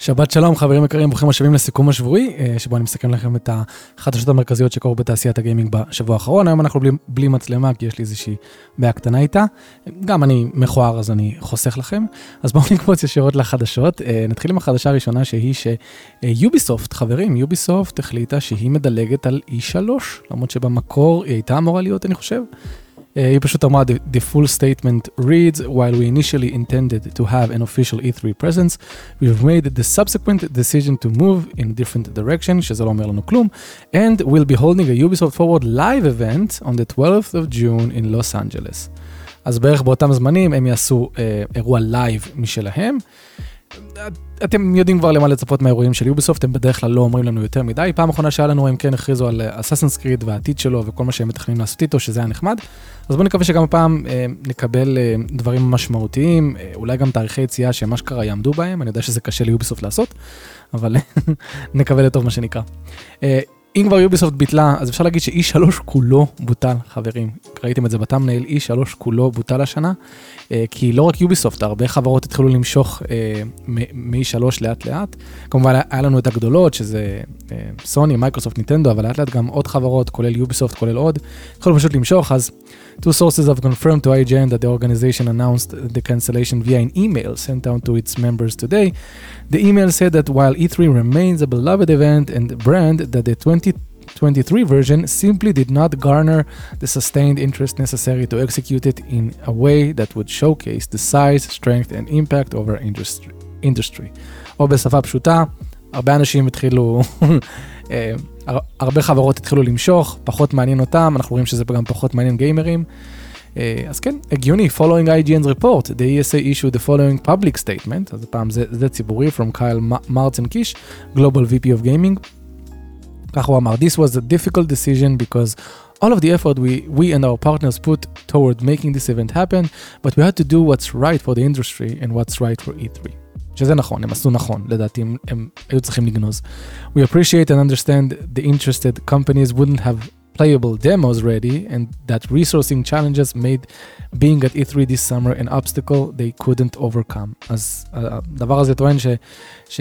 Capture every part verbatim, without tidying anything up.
שבת שלום, חברים יקרים, ברוכים השבים לסיכום השבועי, שבו אני מסכם לכם את החדשות המרכזיות שקורו בתעשיית הגיימינג בשבוע האחרון. היום אנחנו בלי, בלי מצלמה, כי יש לי איזושהי בעיה קטנה איתה. גם אני מכוער, אז אני חוסך לכם. אז בואו נקפוץ ישירות לחדשות. נתחיל עם החדשה הראשונה, שהיא שיוביסופט, חברים, יוביסופט החליטה שהיא מדלגת על אי שלוש, למרות שבמקור היא הייתה אמורה להיות, אני חושב. היא פשוט אמרה, the full statement reads, while we initially intended to have an official E three presence, we've made the subsequent decision to move in a different direction, שזה לא אומר לנו כלום, and we'll be holding a Ubisoft Forward live event on the twelfth of June in Los Angeles. אז בערך באותם זמנים הם יעשו אה, אירוע לייב משלהם. אתם יודעים כבר למה לצפות מהאירועים של יוביסופט, הם בדרך כלל לא אומרים לנו יותר מדי. פעם אחרונה שהיה לנו, הם כן הכריזו על Assassin's Creed והעתיד שלו וכל מה שהם מתכננים לעשות איתו, שזה היה נחמד. אז בואו נקווה שגם הפעם אה, נקבל אה, דברים משמעותיים, אה, אולי גם תאריכי יציאה שמה שקרה יעמדו בהם. אני יודע שזה קשה ליוביסופט לעשות, אבל נקווה לטוב מה שנקרא. אה, אם כבר יוביסופט ביטלה, אז אפשר להגיד ש-E שלוש כולו בוטל, חברים. ראיתם את זה בתמנייל, E שלוש כולו בוטל השנה, כי לא רק יוביסופט, הרבה חברות התחילו למשוך מ-E שלוש לאט לאט. כמובן, היה לנו את הגדולות, שזה סוני, מייקרוסופט, ניטנדו, אבל לאט לאט גם עוד חברות, כולל יוביסופט, כולל עוד, התחילו פשוט למשוך. אז two sources have confirmed to I G N that the organization announced the cancellation via an email sent out to its members today. The email said that while E three remains a beloved event and brand, that the twenty twenty-three version simply did not garner the sustained interest necessary to execute it in a way that would showcase the size, strength and impact of our industry. industry. או בשפה פשוטה, הרבה אנשים התחילו, הרבה חברות התחילו למשוך, פחות מעניין אותם, אנחנו רואים שזה גם פחות מעניין גיימרים. אז כן, הגיוני, following I G N's report, the E S A issued the following public statement, אז הפעם זה, זה ציבורי, from Kyle Martzenkish, Global V P of Gaming. כך הוא אמר, this was a difficult decision because all of the effort we, we and our partners put toward making this event happen, but we had to do what's right for the industry and what's right for E three. שזה נכון, הם עשו נכון, לדעתי הם, הם היו צריכים לגנוז. We appreciate and understand the interested companies wouldn't have playable demos ready and that resourcing challenges made being at E three this summer an obstacle they couldn't overcome. אז הדבר הזה טוען ש... ש...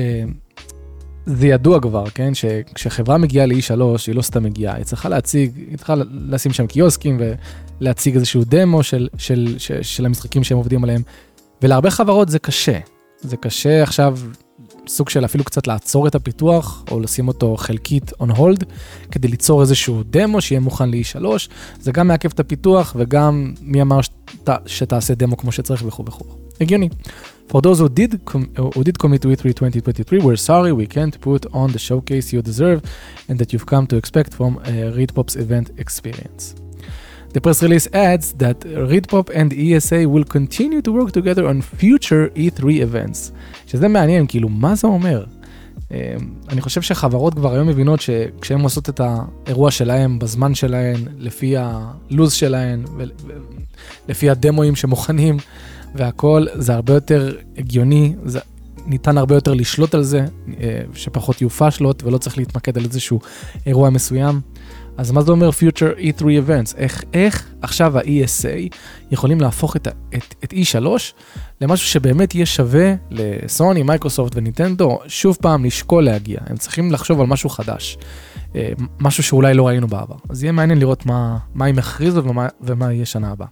זה ידוע כבר, כן? שכשחברה מגיעה ל-E שלוש, היא לא סתם מגיעה, היא צריכה להציג, היא צריכה לשים שם קיוסקים ולהציג איזשהו דמו של, של, של, של המשחקים שהם עובדים עליהם. ולהרבה חברות זה קשה. זה קשה עכשיו סוג של אפילו קצת לעצור את הפיתוח, או לשים אותו חלקית on hold, כדי ליצור איזשהו דמו שיהיה מוכן ל-E שלוש. זה גם מעכב את הפיתוח, וגם מי אמר שת, שתעשה דמו כמו שצריך וכו' וכו'. הגיוני. For those who did, com- who did commit to E three twenty twenty-three, we're sorry we can't put on the showcase you deserve and that you've come to expect from uh, ReedPop's event experience. The press release adds that ReedPop and E S A will continue to work together on future E three events. שזה מעניין, כאילו, מה זה אומר? אני חושב שחברות כבר היום מבינות שכשהן עושות את האירוע שלהן, בזמן שלהן, לפי הלוז שלהן, לפי הדמוים שמוכנים, והכל, זה הרבה יותר הגיוני, זה ניתן הרבה יותר לשלוט על זה, שפחות יופה שלוט, ולא צריך להתמקד על איזשהו אירוע מסוים. אז מה זה אומר Future E three Events? איך, איך עכשיו ה-E S A יכולים להפוך את, את, את E שלוש למשהו שבאמת יהיה שווה לסוני, מייקרוסופט וניטנדו, שוב פעם לשקול להגיע. הם צריכים לחשוב על משהו חדש, משהו שאולי לא ראינו בעבר. אז יהיה מעניין לראות מה, מה הם הכריזו ומה, ומה יהיה שנה הבאה.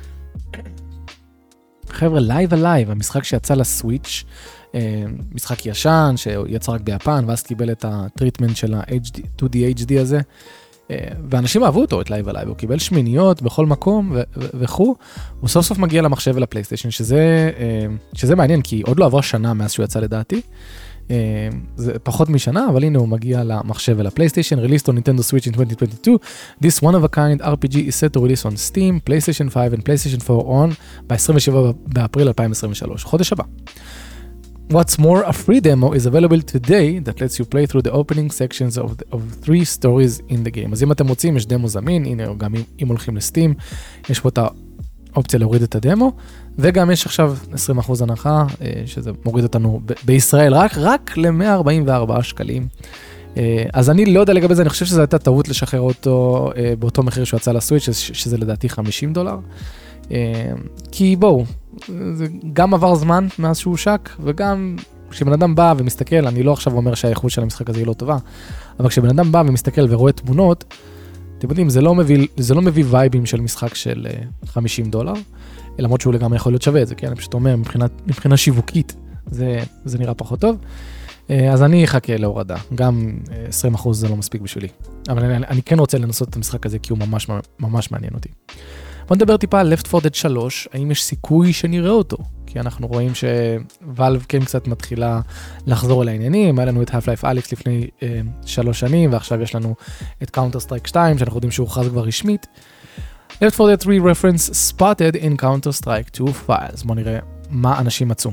חבר'ה, לייב הלייב, המשחק שיצא לסוויץ', משחק ישן שיצא רק ביפן, ואז קיבל את הטריטמנט של ה-טו די אייץ' די הזה, ואנשים אהבו אותו, את לייב הלייב, הוא קיבל שמיניות בכל מקום וכו', הוא סוף סוף מגיע למחשב ולפלייסטיישן, שזה, שזה מעניין, כי עוד לא עברה שנה מאז שהוא יצא לדעתי, זה פחות משנה, אבל הנה הוא מגיע למחשב ולפלייסטיישן, released on Nintendo Switch in twenty twenty-two, this one of a kind R P G is set to release on Steam, PlayStation five and PlayStation four on, ב-עשרים ושבעה באפריל אלפיים עשרים ושלוש, חודש הבא. What's more, a free demo is available today that lets you play through the opening sections of, the, of three stories in the game. אז אם אתם רוצים, יש דמו זמין, הנה, גם אם, אם הולכים לסטים, יש פה את האופציה להוריד את הדמו, וגם יש עכשיו עשרים אחוז הנחה, שזה מוריד אותנו ב- בישראל רק, רק ל-מאה ארבעים וארבעה שקלים. אז אני לא יודע לגבי זה, אני חושב שזו הייתה טעות לשחרר אותו באותו מחיר שהוא יצא לסוויץ', שזה לדעתי חמישים דולר. כי בואו, זה גם עבר זמן מאז שהוא שק, וגם כשבן אדם בא ומסתכל, אני לא עכשיו אומר שהאיכות של המשחק הזה היא לא טובה, אבל כשבן אדם בא ומסתכל ורואה תמונות, אתם יודעים, זה לא מביא, זה לא מביא וייבים של משחק של חמישים דולר, למרות שהוא לגמרי יכול להיות שווה את זה, כן? אני פשוט אומר, מבחינה, מבחינה שיווקית, זה, זה נראה פחות טוב. אז אני אחכה להורדה, גם עשרים אחוז זה לא מספיק בשבילי. אבל אני, אני כן רוצה לנסות את המשחק הזה, כי הוא ממש, ממש מעניין אותי. בוא נדבר טיפה על Left four Dead שלוש, האם יש סיכוי שנראה אותו? כי אנחנו רואים שוואלב כן קצת מתחילה לחזור אל העניינים, היה לנו את Half-Life Alyx לפני אה, שלוש שנים, ועכשיו יש לנו את Counter-Strike שתיים, שאנחנו יודעים שהוא הוכרז כבר רשמית. Left four Dead three reference spotted in Counter-Strike two files. בוא נראה מה אנשים מצאו.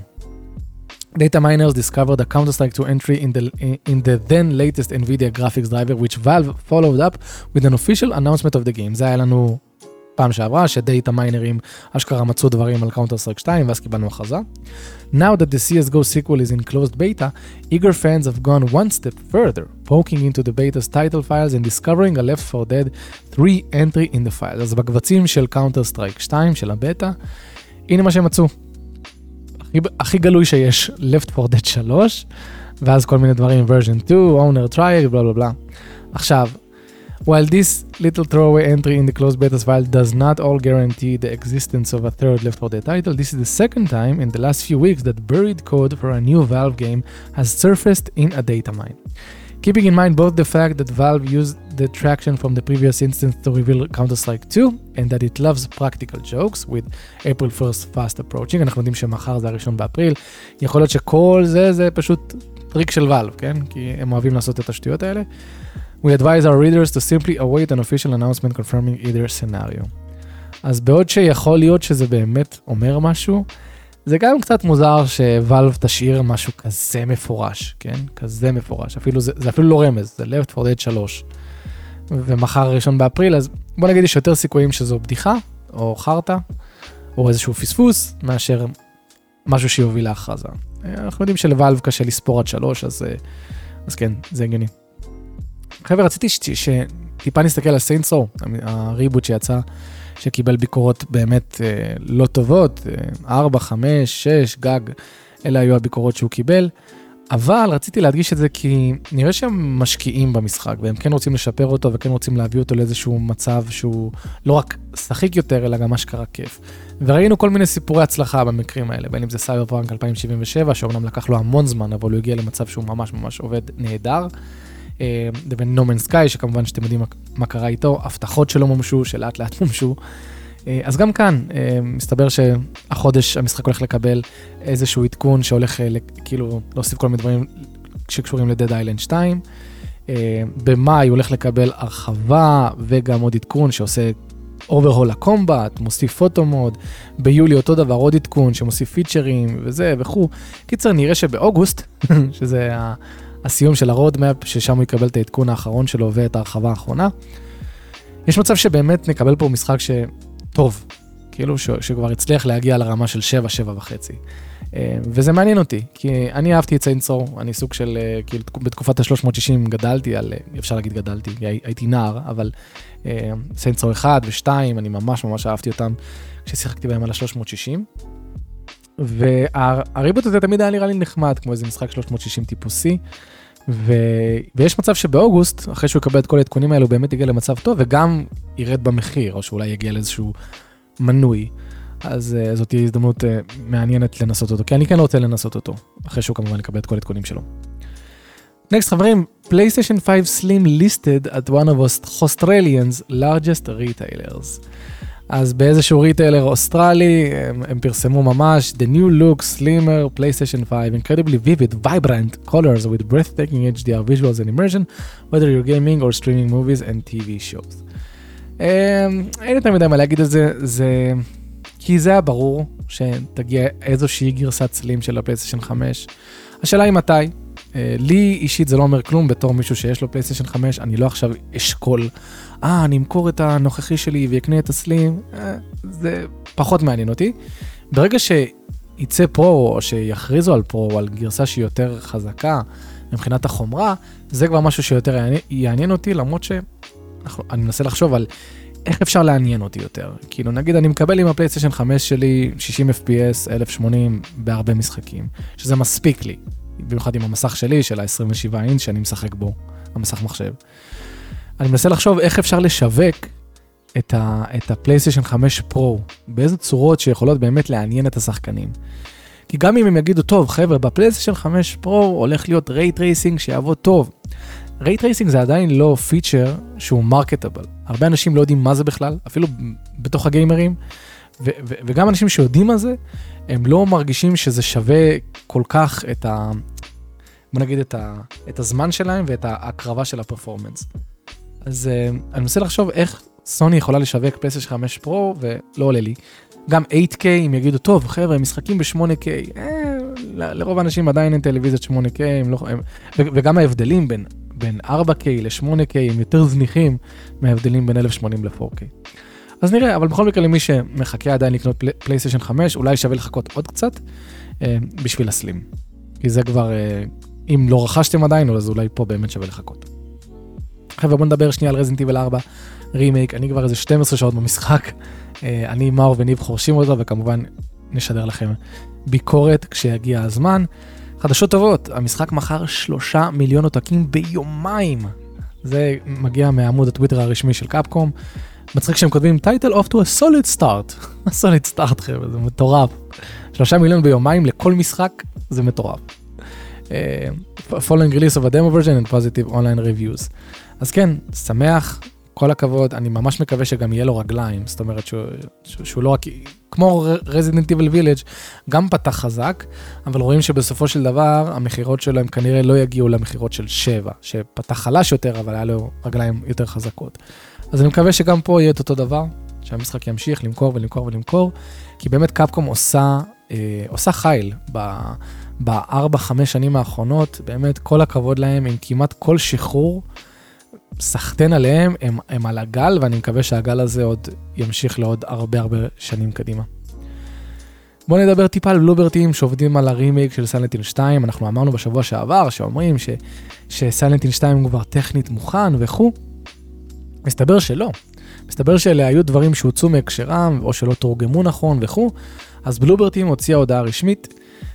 Data miners discovered a Counter-Strike two entry in the, in the then latest NVIDIA graphics driver, which Valve followed up with an official announcement of the game. זה היה לנו פעם שעברה, שדאטה מיינרים אשכרה מצאו דברים על Counter-Strike שתיים, ואז קיבלנו הכרזה. Now that the C S G O sequel is in closed beta, eager fans have gone one step further, poking into the beta's title files and discovering a Left four Dead three entry in the files. אז בקבצים של Counter-Strike שתיים, של הבטא, הנה מה שהם מצאו. הכי, הכי גלוי שיש, Left four Dead שלוש, ואז כל מיני דברים, version two, owner trial, בלה בלה בלה. עכשיו, while this little throwaway entry in the closed beta file does not all guarantee the existence of a third Left four Dead title, this is the second time in the last few weeks that buried code for a new Valve game has surfaced in a data mine. Keeping in mind both the fact that Valve used the traction from the previous instance to reveal Counter-Strike two and that it loves practical jokes with April first fast approaching, אנחנו יודעים שמחר זה הראשון באפריל, יכול להיות שכל זה זה פשוט טריק של Valve, כן? כי הם אוהבים לעשות את השטויות האלה. We advise our readers to simply await an official announcement confirming either scenario. אז בעוד שיכול להיות שזה באמת אומר משהו, זה גם קצת מוזר שוואלב תשאיר משהו כזה מפורש, כן? כזה מפורש. אפילו זה, זה אפילו לא רמז, זה Left four Dead שלוש. ומחר ראשון באפריל, אז בוא נגיד יש יותר סיכויים שזו בדיחה, או חרטה, או איזשהו פספוס, מאשר משהו שיוביל להכרזה. אנחנו יודעים שלוואלב קשה לספור עד שלוש, אז, אז כן, זה הגיוני. חבר'ה, רציתי שטיפה נסתכל על Saints Row, הריבוט שיצא, שקיבל ביקורות באמת אה, לא טובות, ארבע, חמש, שש, גג, אלה היו הביקורות שהוא קיבל, אבל רציתי להדגיש את זה כי נראה שהם משקיעים במשחק, והם כן רוצים לשפר אותו, וכן רוצים להביא אותו לאיזשהו מצב שהוא לא רק שחיק יותר, אלא גם אשכרה כיף. וראינו כל מיני סיפורי הצלחה במקרים האלה, בין אם זה Cyberpunk אלפיים שבעים ושבע, שאומנם לקח לו המון זמן, אבל הוא הגיע למצב שהוא ממש ממש עובד נהדר, לבין No Man's Sky, שכמובן שאתם יודעים מה קרה איתו, הבטחות שלא מומשו, שלאט לאט מומשו. אז גם כאן, מסתבר שהחודש המשחק הולך לקבל איזשהו עדכון שהולך כאילו להוסיף כל מיני דברים שקשורים ל-Dead Island שתיים. במאי הולך לקבל הרחבה וגם עוד עדכון שעושה overhaul לקומבט, מוסיף פוטו מוד. ביולי אותו דבר, עוד עדכון שמוסיף פיצ'רים וזה וכו'. קיצר, נראה שבאוגוסט, שזה ה... הסיום של הרודמאפ, ששם הוא יקבל את העדכון האחרון שלו ואת ההרחבה האחרונה. יש מצב שבאמת נקבל פה משחק שטוב, כאילו ש... שכבר הצליח להגיע לרמה של שבע, שבע וחצי. וזה מעניין אותי, כי אני אהבתי את Saints Row, אני סוג של, כאילו בתקופת ה-שלוש מאות שישים גדלתי על, אפשר להגיד גדלתי, הייתי נער, אבל Saints Row אחד ושתיים, אני ממש ממש אהבתי אותם, כששיחקתי בהם על ה-שלוש מאות שישים. והריבוט הזה תמיד היה נראה לי נחמד, כמו איזה משחק שלוש מאות שישים טיפוסי, ו... ויש מצב שבאוגוסט, אחרי שהוא יקבל את כל העדכונים האלו, הוא באמת יגיע למצב טוב, וגם ירד במחיר, או שאולי יגיע לאיזשהו מנוי, אז uh, זאת תהיה הזדמנות uh, מעניינת לנסות אותו, כי אני כן רוצה לנסות אותו, אחרי שהוא כמובן יקבל את כל העדכונים שלו. נקסט חברים, PlayStation five Slim listed at one of Australia's largest retailers. אז באיזשהו ריטיילר אוסטרלי, הם, הם פרסמו ממש, the new look, slimmer, PlayStation five, incredibly vivid, vibrant colors with breathtaking H D R visuals and immersion, whether you're gaming or streaming movies and T V shows. אין יותר מדי מה להגיד על זה, זה... כי זה היה ברור שתגיע איזושהי גרסת סלים של הפלייסטיישן חמש. השאלה היא מתי. לי אישית זה לא אומר כלום בתור מישהו שיש לו פלייסטיישן חמש, אני לא עכשיו אשכול, אה, אני אמכור את הנוכחי שלי ויקנה את הסלים, זה פחות מעניין אותי. ברגע שיצא פרו, או שיכריזו על פרו, או על גרסה שהיא יותר חזקה, מבחינת החומרה, זה כבר משהו שיותר יעניין אותי, למרות שאני מנסה לחשוב על איך אפשר לעניין אותי יותר. כאילו, נגיד, אני מקבל עם הפלייסטיישן חמש שלי שישים אף פי אס, אלף ושמונים בהרבה משחקים, שזה מספיק לי. במיוחד עם המסך שלי, של ה-עשרים ושבעה אינץ' שאני משחק בו, המסך מחשב. אני מנסה לחשוב איך אפשר לשווק את ה, את הפלייסטיישן חמש פרו, באיזה צורות שיכולות באמת לעניין את השחקנים. כי גם אם הם יגידו, טוב, חבר'ה, בפלייסטיישן חמש פרו הולך להיות ray tracing שיעבוד טוב. ray tracing זה עדיין לא פיצ'ר שהוא מרקטבל. הרבה אנשים לא יודעים מה זה בכלל, אפילו בתוך הגיימרים, ו- ו- וגם אנשים שיודעים מה זה, הם לא מרגישים שזה שווה כל כך את ה... בוא נגיד את, ה- את הזמן שלהם ואת ההקרבה של הפרפורמנס. אז uh, אני מנסה לחשוב איך סוני יכולה לשווק פלייסטיישן חמש פרו, ולא עולה לי. גם אייט קיי, אם יגידו, טוב, חבר'ה, הם משחקים ב-שמונה קיי. אה, לרוב האנשים עדיין אין טלוויזיות שמונה קיי, הם לא, הם, ו- וגם ההבדלים בין, בין ארבע קיי ל-שמונה קיי הם יותר זניחים מההבדלים בין אלף ושמונים ל-פור קיי. אז נראה, אבל בכל מקרה למי שמחכה עדיין לקנות פלי, פלייסטיישן חמש, אולי שווה לחכות עוד קצת, אה, בשביל הסלים. כי זה כבר, אה, אם לא רכשתם עדיין, אז אולי פה באמת שווה לחכות. חבר'ה, בוא נדבר שנייה על Resident Evil ארבע רימייק, אני כבר איזה שתים עשרה שעות במשחק, אני, מאור וניב חורשים אותו, וכמובן נשדר לכם ביקורת כשיגיע הזמן. חדשות טובות, המשחק מכר שלושה מיליון עותקים ביומיים, זה מגיע מעמוד הטוויטר הרשמי של קאפקום, מצחיק שהם כותבים title off to a solid start, a solid start חבר'ה, זה מטורף, שלושה מיליון ביומיים לכל משחק, זה מטורף. Uh, following release of a demo version and positive online reviews. אז כן, שמח, כל הכבוד, אני ממש מקווה שגם יהיה לו רגליים, זאת אומרת שהוא, שהוא, שהוא לא רק, כמו Resident Evil Village, גם פתח חזק, אבל רואים שבסופו של דבר, המחירות שלו הם כנראה לא יגיעו למחירות של שבע, שפתח חלש יותר, אבל היה לו רגליים יותר חזקות. אז אני מקווה שגם פה יהיה את אותו דבר, שהמשחק ימשיך למכור ולמכור ולמכור, כי באמת קאפקום עושה, אה, עושה חייל ב... בארבע, חמש שנים האחרונות, באמת כל הכבוד להם, עם כמעט כל שחרור, סחטן עליהם, הם, הם על הגל, ואני מקווה שהגל הזה עוד ימשיך לעוד הרבה הרבה שנים קדימה. בואו נדבר טיפה על בלוברטים שעובדים על הרימייק של סיילנט היל שתיים, אנחנו אמרנו בשבוע שעבר, שאומרים ש, שסיילנט היל שתיים הוא כבר טכנית מוכן וכו'. מסתבר שלא. מסתבר שאלה היו דברים שהוצאו מהקשרם, או שלא תורגמו נכון וכו'. אז בלוברטים הוציאה הודעה רשמית,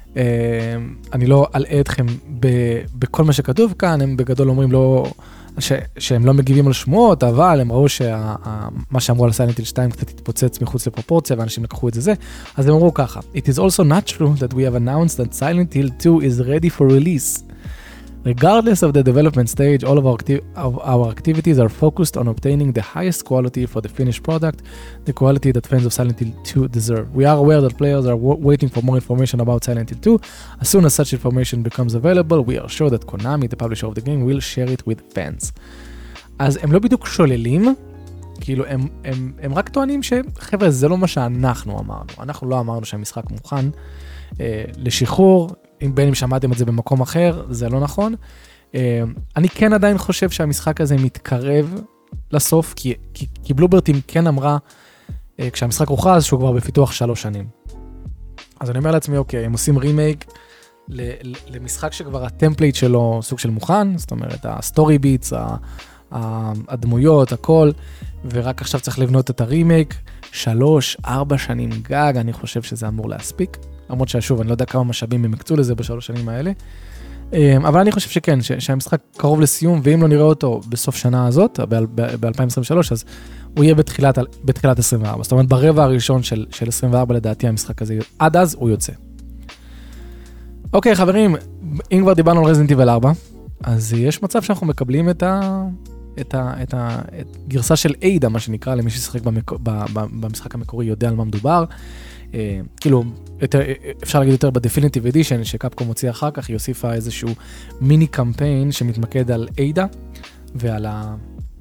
אני לא אלאה אתכם בכל מה שכתוב כאן, הם בגדול אומרים לא, שהם לא מגיבים על שמועות, אבל הם ראו שמה שאמרו על סיילנט היל שתיים קצת התפוצץ מחוץ לפרופורציה, ואנשים לקחו את זה זה, אז הם אמרו ככה, It is also not true that we have announced that Silent Hill two is ready for release. Regardless of the development stage, all of our, acti- of our activities are focused on obtaining the highest quality for the finished product, the quality that fans of Silent Hill two deserve. We are aware that players are w- waiting for more information about Silent Hill two. As soon as such information becomes available, we are sure that Konami, the publisher of the game, will share it with fans. אז הם לא בדיוק שוללים, כאילו הם, הם, הם רק טוענים שחבר'ה, זה לא מה שאנחנו אמרנו. אנחנו לא אמרנו שהמשחק מוכן אה, לשחרור, אם בין אם שמעתם את זה במקום אחר, זה לא נכון. אני כן עדיין חושב שהמשחק הזה מתקרב לסוף, כי, כי, כי בלוברטים כן אמרה, כשהמשחק הוכרז, שהוא כבר בפיתוח שלוש שנים. אז אני אומר לעצמי, אוקיי, הם עושים רימייק למשחק שכבר הטמפלייט שלו סוג של מוכן, זאת אומרת, הסטורי ביטס, הדמויות, הכל, ורק עכשיו צריך לבנות את הרימייק, שלוש, ארבע שנים גג, אני חושב שזה אמור להספיק. למרות ששוב, אני לא יודע כמה משאבים הם הקצו לזה בשלוש שנים האלה, אבל אני חושב שכן, שהמשחק קרוב לסיום, ואם לא נראה אותו בסוף שנה הזאת, ב-אלפיים עשרים ושלוש, אז הוא יהיה בתחילת, בתחילת עשרים וארבע, זאת אומרת, ברבע הראשון של, של עשרים וארבע, לדעתי המשחק הזה, עד אז הוא יוצא. אוקיי, חברים, אם כבר דיברנו על Resident Evil ארבע, אז יש מצב שאנחנו מקבלים את ה... את ה... את ה... את גרסה של איידה, מה שנקרא, למי ששחק במק... במשחק המקורי יודע על מה מדובר, כאילו, יותר, אפשר להגיד יותר בדפיניטיב אדישן, שקאפקום הוציא אחר כך, היא הוסיפה איזשהו מיני קמפיין שמתמקד על איידה, ועל ה...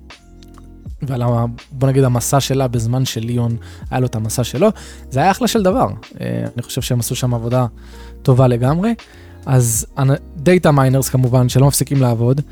ועל ה... בוא נגיד המסע שלה בזמן של ליאון, היה לו את המסע שלו, זה היה אחלה של דבר. אני חושב שהם עשו שם עבודה טובה לגמרי. אז דאטה מיינרס כמובן, שלא מפסיקים לעבוד,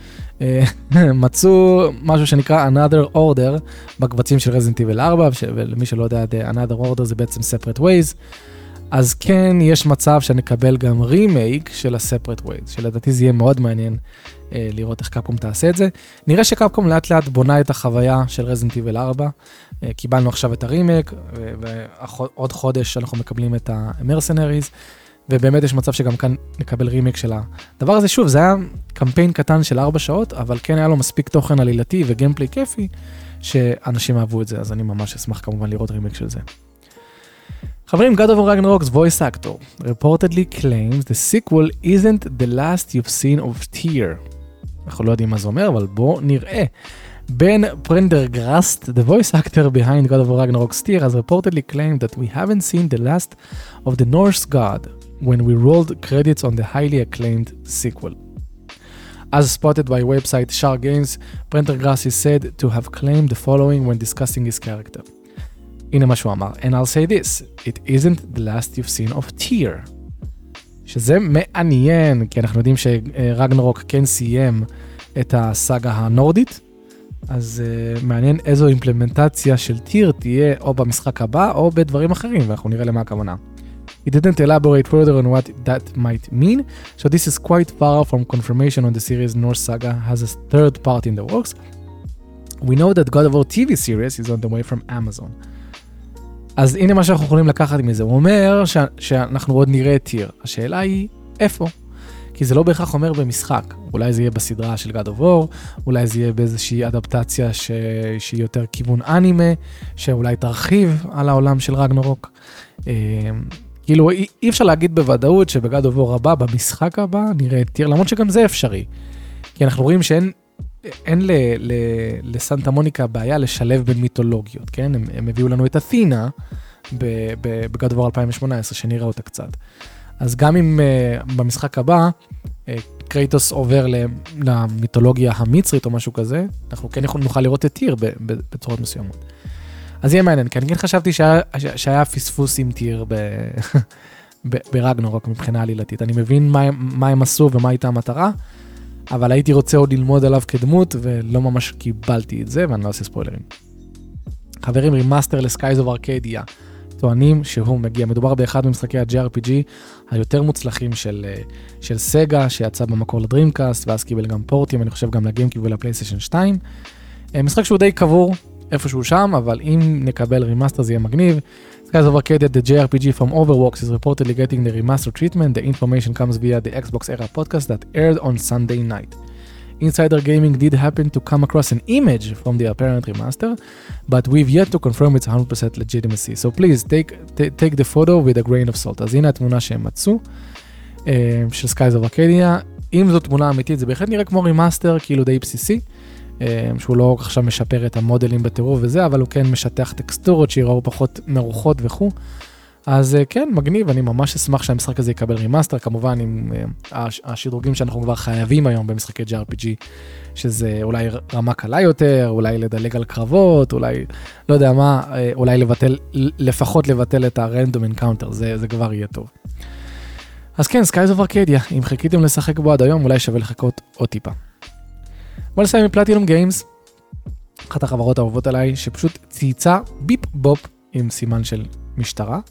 מצאו משהו שנקרא Another Order בקבצים של Resident Evil ארבע, ולמי שלא יודע, Another Order זה בעצם Separate Ways, אז כן, יש מצב שנקבל גם רימייק של ה-Separate Ways, שלדעתי זה יהיה מאוד מעניין אה, לראות איך קאפקום תעשה את זה. נראה שקאפקום לאט לאט בונה את החוויה של Resident Evil ארבע, אה, קיבלנו עכשיו את הרימייק, ועוד חודש אנחנו מקבלים את ה-Mercenaries, ובאמת יש מצב שגם כאן נקבל רימייק של הדבר הזה. שוב, זה היה קמפיין קטן של ארבע שעות, אבל כן היה לו מספיק תוכן עלילתי וגיימפליי כיפי, שאנשים אהבו את זה, אז אני ממש אשמח כמובן לראות רימייק של זה. חברים, God of War Ragnarok's voice actor reportedly claims the sequel isn't the last you've seen of Tyr. אנחנו לא יודעים מה זה אומר, אבל בואו נראה. Ben Prendergast, the voice actor behind God of War Ragnarok's Tyr, has reportedly claimed that we haven't seen the last of the Norse god when we rolled credits on the highly acclaimed sequel. As spotted by website Shar Games, Prendergast is said to have claimed the following when discussing his character. הנה מה שהוא אמר, and I'll say this, it isn't the last you've seen of Tyr. שזה מעניין, כי אנחנו יודעים שרגנרוק כן סיים את הסאגה הנורדית, אז uh, מעניין איזו אימפלמנטציה של טיר תהיה או במשחק הבא או בדברים אחרים, ואנחנו נראה למה הכוונה. It didn't elaborate further on what that might mean, so this is quite far from confirmation on the series Norse Saga has a third part in the works. We know that God of War טי וי series is on the way from Amazon. אז הנה מה שאנחנו יכולים לקחת מזה, הוא אומר ש- שאנחנו עוד נראה את טיר. השאלה היא, איפה? כי זה לא בהכרח אומר במשחק. אולי זה יהיה בסדרה של God of War, אולי זה יהיה באיזושהי אדפטציה ש... שהיא יותר כיוון אנימה, שאולי תרחיב על העולם של רגנרוק. כאילו, אי, אי אפשר להגיד בוודאות שבגד of War הבא, במשחק הבא, נראה את טיר, למרות שגם זה אפשרי. כי אנחנו רואים שאין אין ל, ל, לסנטה מוניקה בעיה לשלב בין מיתולוגיות, כן? הם, הם הביאו לנו את אתינה בגד of War אלפיים שמונה עשרה, שנראה אותה קצת. אז גם אם uh, במשחק הבא, uh, קרייטוס עובר למיתולוגיה המצרית או משהו כזה, אנחנו כן נוכל לראות את טיר בצורות מסוימות. אז יהיה מעניין, כי אני כן חשבתי שהיה, שהיה פספוס עם טיר ב, ב, ברגנרוק מבחינה עלילתית. אני מבין מה, מה הם עשו ומה הייתה המטרה, אבל הייתי רוצה עוד ללמוד עליו כדמות, ולא ממש קיבלתי את זה, ואני לא עושה ספוילרים. חברים, רימאסטר לסקייז אוף ארקדיה, טוענים שהוא מגיע, מדובר באחד ממשחקי ה-ג'י אר פי ג'י היותר מוצלחים של, של סגה, שיצא במקור לדרימקאסט, ואז קיבל גם פורטים, אני חושב גם לגיימקיוב ולפלייסטיישן שתיים. משחק שהוא די קבור, איפשהו שם, אבל אם נקבל רימאסטר זה יהיה מגניב. Skies of Arcadia, the ג'י אר פי ג'י from Overworks is reportedly getting the remaster treatment. The information comes via the Xbox Era podcast that aired on Sunday night. Insider Gaming did happen to come across an image from the apparent remaster, but we've yet to confirm its one hundred percent legitimacy. So please take, t- take the photo with a grain of salt. אז הנה התמונה שהם מצאו, של Skies of Arcadia. אם זו תמונה אמיתית, זה בהחלט נראה כמו רימאסטר, כאילו די בסיסי, שהוא לא עכשיו משפר את המודלים בטירוף וזה, אבל הוא כן משטח טקסטורות שיראו פחות מרוחות וכו'. אז כן, מגניב, אני ממש אשמח שהמשחק הזה יקבל רימאסטר, כמובן עם השדרוגים שאנחנו כבר חייבים היום במשחקי ג'י אר פי ג'י, שזה אולי רמה קלה יותר, אולי לדלג על קרבות, אולי, לא יודע מה, אולי לבטל, לפחות לבטל את הרנדום אנקאונטר, זה, זה כבר יהיה טוב. אז כן, Skies of Arcadia, אם חיכיתם לשחק בו עד היום, אולי שווה לחכות עוד טיפה. בוא נסיים מפלטינום גיימס, אחת החברות האהובות עליי, שפשוט צייצה ביפ בופ עם סימן של משטרה,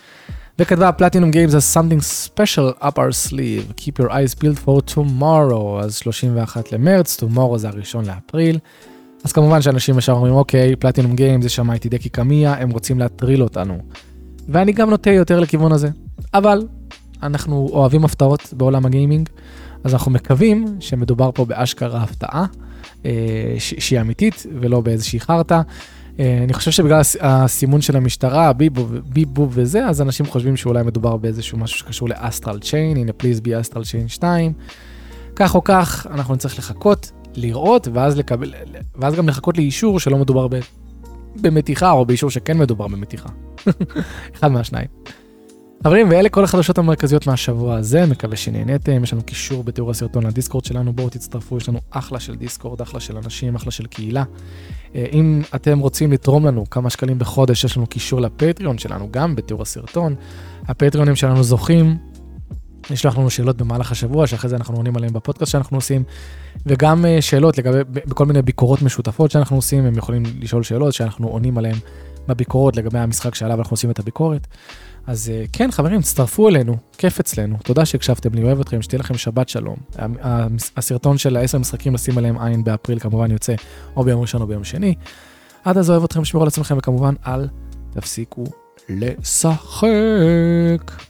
וכתבה פלטינום גיימס has something special up our sleeve, keep your eyes peeled for tomorrow, אז שלושים ואחד למרץ, tomorrow זה הראשון לאפריל, אז כמובן שאנשים ישר אומרים, אוקיי, פלטינום גיימס זה שמע איתי דקי קמיה, הם רוצים להטריל אותנו, ואני גם נוטה יותר לכיוון הזה, אבל אנחנו אוהבים הפתעות בעולם הגיימינג, אז אנחנו מקווים שמדובר פה באשכרה הפתעה, שהיא אמיתית ולא באיזושהי חרטה. אני חושב שבגלל הסימון של המשטרה, ביבוב וזה, אז אנשים חושבים שאולי מדובר באיזשהו משהו שקשור לאסטרל צ'יין, הנה פליז בי אסטרל צ'יין שתיים. כך או כך, אנחנו נצטרך לחכות, לראות, ואז, לקבל, ואז גם לחכות לאישור שלא מדובר במתיחה, או באישור שכן מדובר במתיחה. אחד מהשניים. חברים, ואלה כל החדשות המרכזיות מהשבוע הזה, מקווה שנהנתם, יש לנו קישור בתיאור הסרטון לדיסקורד שלנו, בואו תצטרפו, יש לנו אחלה של דיסקורד, אחלה של אנשים, אחלה של קהילה. אם אתם רוצים לתרום לנו כמה שקלים בחודש, יש לנו קישור לפטריון שלנו, גם בתיאור הסרטון. הפטריונים שלנו זוכים, נשלח לנו שאלות במהלך השבוע, שאחרי זה אנחנו עונים עליהם בפודקאסט שאנחנו עושים, וגם שאלות לגבי, בכל מיני ביקורות משותפות שאנחנו עושים, הם יכולים לשאול שאלות שאנחנו עונים עליהם בביקורות לגבי המשחק שעליו אנחנו עושים את הביקורת. אז כן, חברים, תצטרפו אלינו, כיף אצלנו, תודה שהקשבתם לי, אוהב אתכם, שתהיה לכם שבת שלום. הסרטון של העשר משחקים לשים עליהם עין באפריל, כמובן יוצא או ביום ראשון או ביום שני. עד אז אוהב אתכם, שמרו על עצמכם, וכמובן אל תפסיקו לשחק.